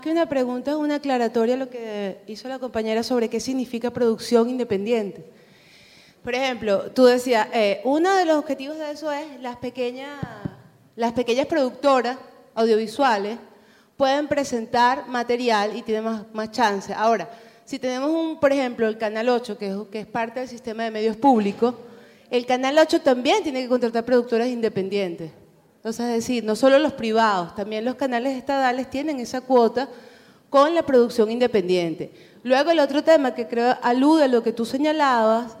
que una pregunta, es una aclaratoria a lo que hizo la compañera sobre qué significa producción independiente. Por ejemplo, tú decías, uno de los objetivos de eso es las pequeñas productoras audiovisuales pueden presentar material y tienen más chance. Ahora, si tenemos por ejemplo, el Canal 8, que es parte del sistema de medios públicos, el Canal 8 también tiene que contratar productoras independientes. Entonces, es decir, no solo los privados, también los canales estatales tienen esa cuota con la producción independiente. Luego, el otro tema que creo alude a lo que tú señalabas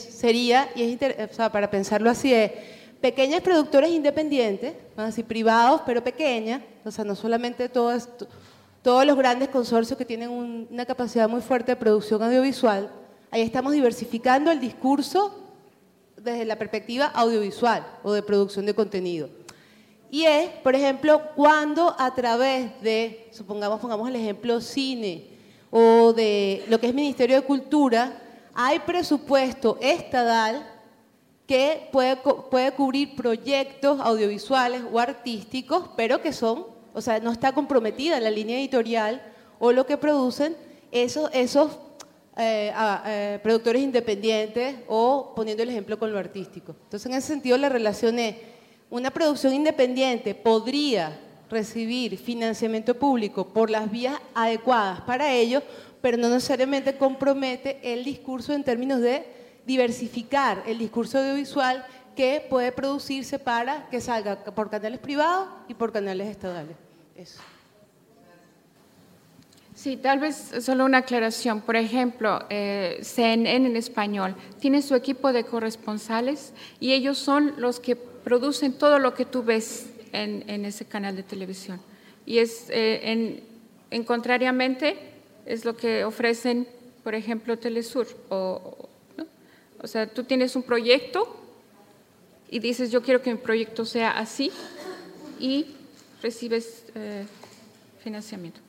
para pensarlo así, es pequeñas productoras independientes, así privados, pero pequeñas, o sea, no solamente todos los grandes consorcios que tienen una capacidad muy fuerte de producción audiovisual. Ahí estamos diversificando el discurso desde la perspectiva audiovisual o de producción de contenido. Y es, por ejemplo, cuando a través de, pongamos el ejemplo cine o de lo que es Ministerio de Cultura, hay presupuesto estatal que puede cubrir proyectos audiovisuales o artísticos, pero que son, o sea, no está comprometida la línea editorial o lo que producen esos productores independientes o poniendo el ejemplo con lo artístico. Entonces, en ese sentido, la relación es, una producción independiente podría recibir financiamiento público por las vías adecuadas para ello, pero no necesariamente compromete el discurso en términos de diversificar el discurso audiovisual que puede producirse para que salga por canales privados y por canales estatales. Eso. Sí, tal vez solo una aclaración. Por ejemplo, CNN en español tiene su equipo de corresponsales y ellos son los que producen todo lo que tú ves en ese canal de televisión. Y contrariamente es lo que ofrecen, por ejemplo, Telesur. ¿No? O sea, tú tienes un proyecto y dices, yo quiero que mi proyecto sea así y recibes financiamiento.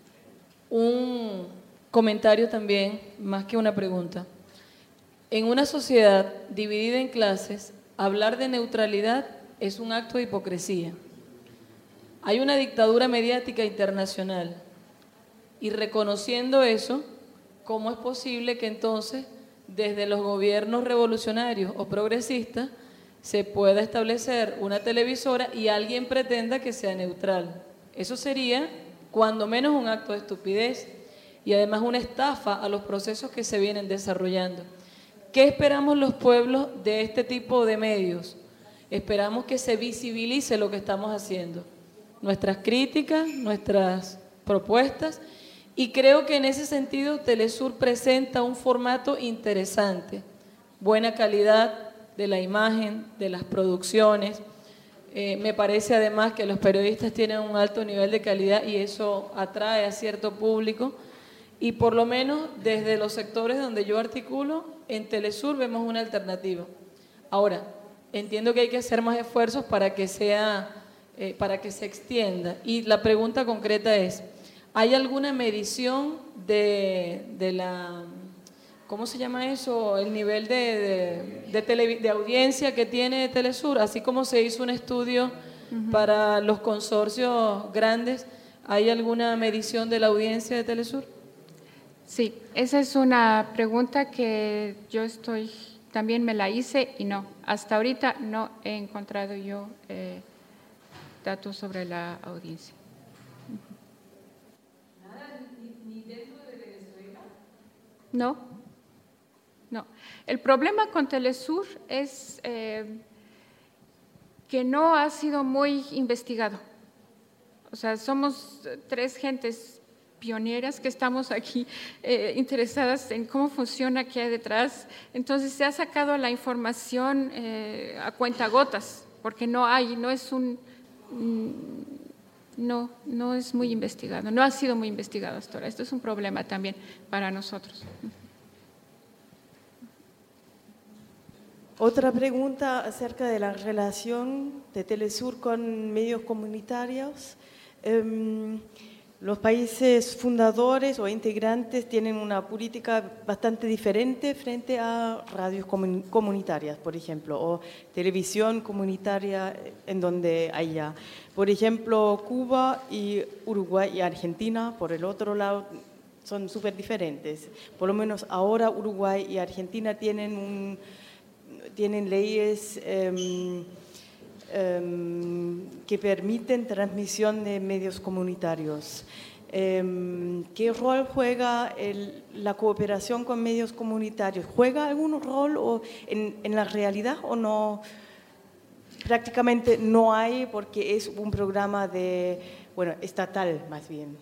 Un comentario también, más que una pregunta. En una sociedad dividida en clases, hablar de neutralidad es un acto de hipocresía. Hay una dictadura mediática internacional y reconociendo eso, ¿cómo es posible que entonces desde los gobiernos revolucionarios o progresistas se pueda establecer una televisora y alguien pretenda que sea neutral? Eso sería cuando menos un acto de estupidez y además una estafa a los procesos que se vienen desarrollando. ¿Qué esperamos los pueblos de este tipo de medios? Esperamos que se visibilice lo que estamos haciendo, nuestras críticas, nuestras propuestas, y creo que en ese sentido Telesur presenta un formato interesante, buena calidad de la imagen, de las producciones. Me parece además que los periodistas tienen un alto nivel de calidad y eso atrae a cierto público, y por lo menos desde los sectores donde yo articulo, en Telesur vemos una alternativa. Ahora, entiendo que hay que hacer más esfuerzos para que se extienda. Y la pregunta concreta es, ¿hay alguna medición de la, ¿cómo se llama eso? El nivel de audiencia que tiene Telesur, así como se hizo un estudio para los consorcios grandes, ¿hay alguna medición de la audiencia de Telesur? Sí, esa es una pregunta que también me la hice y no, hasta ahorita no he encontrado yo datos sobre la audiencia. ¿Nada, ni dentro de Venezuela? No. El problema con Telesur es que no ha sido muy investigado. O sea, somos 3 gentes pioneras que estamos aquí interesadas en cómo funciona, qué hay detrás. Entonces se ha sacado la información a cuentagotas, porque no es muy investigado, no ha sido muy investigado hasta ahora. Esto es un problema también para nosotros. Otra pregunta acerca de la relación de Telesur con medios comunitarios. Los países fundadores o integrantes tienen una política bastante diferente frente a radios comunitarias, por ejemplo, o televisión comunitaria en donde haya. Por ejemplo, Cuba y Uruguay y Argentina, por el otro lado, son súper diferentes. Por lo menos ahora Uruguay y Argentina tienen leyes que permiten transmisión de medios comunitarios. ¿Qué rol juega la cooperación con medios comunitarios? ¿Juega algún rol en la realidad o no? Prácticamente no hay porque es un programa estatal más bien.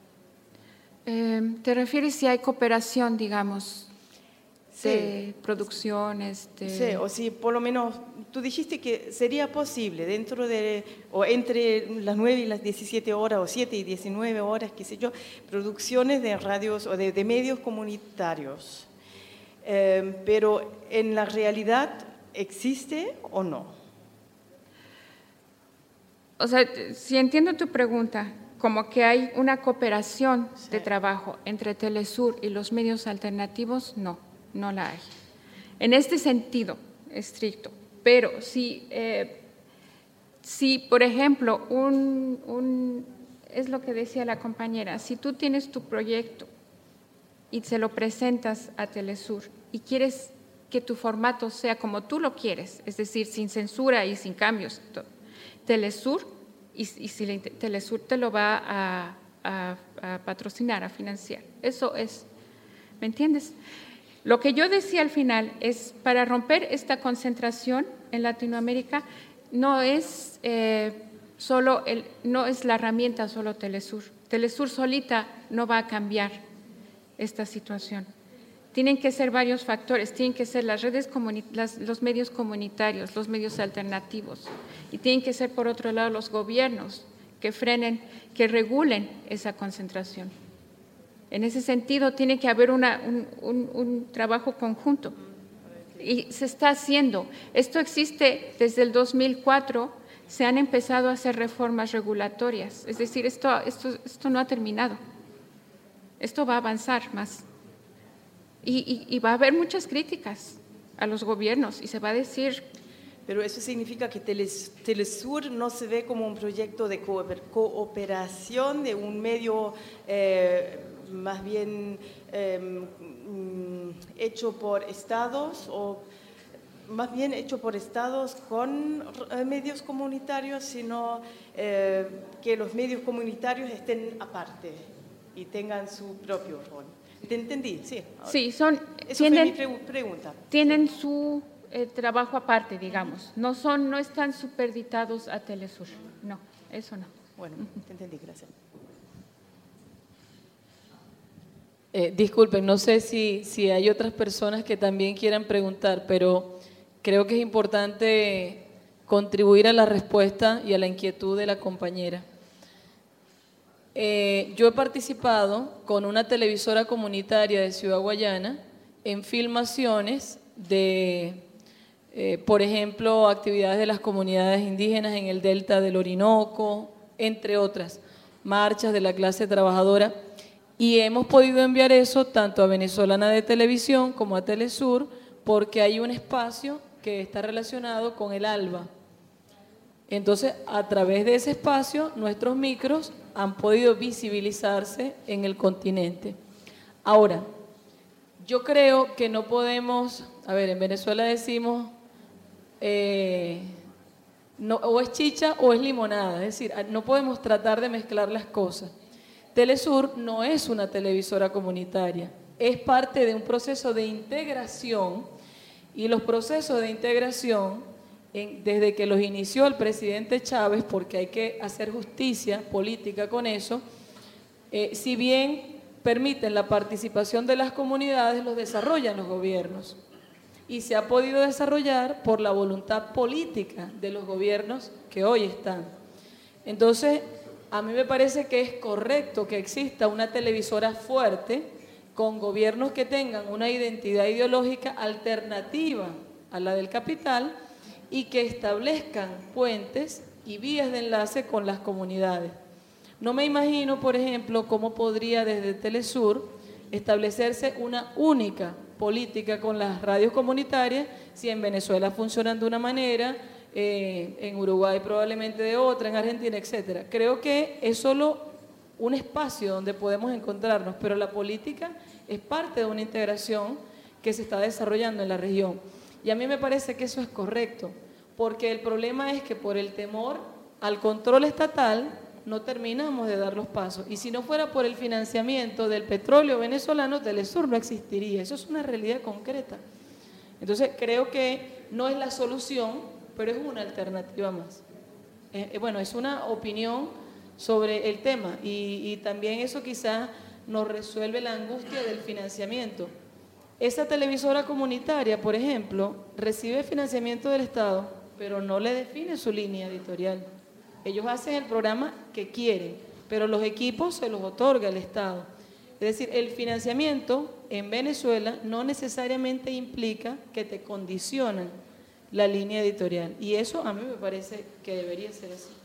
¿Te refieres si hay cooperación, digamos? De producciones. Sí, o si por lo menos tú dijiste que sería posible o entre las 9 y las 17 horas o 7 y 19 horas, qué sé yo, producciones de radios o de medios comunitarios. Pero en la realidad, ¿existe o no? O sea, si entiendo tu pregunta, como que hay una cooperación de trabajo entre Telesur y los medios alternativos, no la hay. En este sentido estricto, pero si por ejemplo, es lo que decía la compañera, si tú tienes tu proyecto y se lo presentas a Telesur y quieres que tu formato sea como tú lo quieres, es decir, sin censura y sin cambios, Telesur te lo va a patrocinar, a financiar. Eso es, ¿me entiendes? Lo que yo decía al final es, para romper esta concentración en Latinoamérica, no es la herramienta solo Telesur. Telesur solita no va a cambiar esta situación. Tienen que ser varios factores, tienen que ser las redes los medios comunitarios, los medios alternativos, y tienen que ser, por otro lado, los gobiernos que frenen, que regulen esa concentración. En ese sentido, tiene que haber un trabajo conjunto. Y se está haciendo. Esto existe desde el 2004, se han empezado a hacer reformas regulatorias. Es decir, esto no ha terminado. Esto va a avanzar más. Y va a haber muchas críticas a los gobiernos y se va a decir… Pero eso significa que Telesur no se ve como un proyecto de cooperación de un medio más bien hecho por estados o más bien hecho por estados con medios comunitarios, sino que los medios comunitarios estén aparte y tengan su propio rol. ¿Te entendí? Sí. Sí, fue mi pregunta. Tienen su trabajo aparte, digamos. No están superditados a Telesur. No, eso no. Bueno, te entendí, gracias. Disculpen, no sé si hay otras personas que también quieran preguntar, pero creo que es importante contribuir a la respuesta y a la inquietud de la compañera. Yo he participado con una televisora comunitaria de Ciudad Guayana en filmaciones de, por ejemplo, actividades de las comunidades indígenas en el delta del Orinoco, entre otras, marchas de la clase trabajadora, y hemos podido enviar eso tanto a Venezolana de Televisión como a Telesur, porque hay un espacio que está relacionado con el ALBA. Entonces, a través de ese espacio, nuestros micros han podido visibilizarse en el continente. Ahora, yo creo que no podemos, en Venezuela decimos, no, o es chicha o es limonada, es decir, no podemos tratar de mezclar las cosas. Telesur no es una televisora comunitaria, es parte de un proceso de integración, y los procesos de integración, desde que los inició el presidente Chávez, porque hay que hacer justicia política con eso, si bien permiten la participación de las comunidades, los desarrollan los gobiernos. Y se ha podido desarrollar por la voluntad política de los gobiernos que hoy están. Entonces, a mí me parece que es correcto que exista una televisora fuerte con gobiernos que tengan una identidad ideológica alternativa a la del capital y que establezcan puentes y vías de enlace con las comunidades. No me imagino, por ejemplo, cómo podría desde Telesur establecerse una única política con las radios comunitarias si en Venezuela funcionan de una manera, en Uruguay probablemente de otra, en Argentina, etcétera. Creo que es solo un espacio donde podemos encontrarnos, pero la política es parte de una integración que se está desarrollando en la región. Y a mí me parece que eso es correcto, porque el problema es que por el temor al control estatal no terminamos de dar los pasos. Y si no fuera por el financiamiento del petróleo venezolano, Telesur no existiría. Eso es una realidad concreta. Entonces, creo que no es la solución, pero es una alternativa más. Bueno, es una opinión sobre el tema y también eso quizás nos resuelve la angustia del financiamiento. Esa televisora comunitaria, por ejemplo, recibe financiamiento del Estado, pero no le define su línea editorial. Ellos hacen el programa que quieren, pero los equipos se los otorga el Estado. Es decir, el financiamiento en Venezuela no necesariamente implica que te condicionan la línea editorial. Y eso a mí me parece que debería ser así.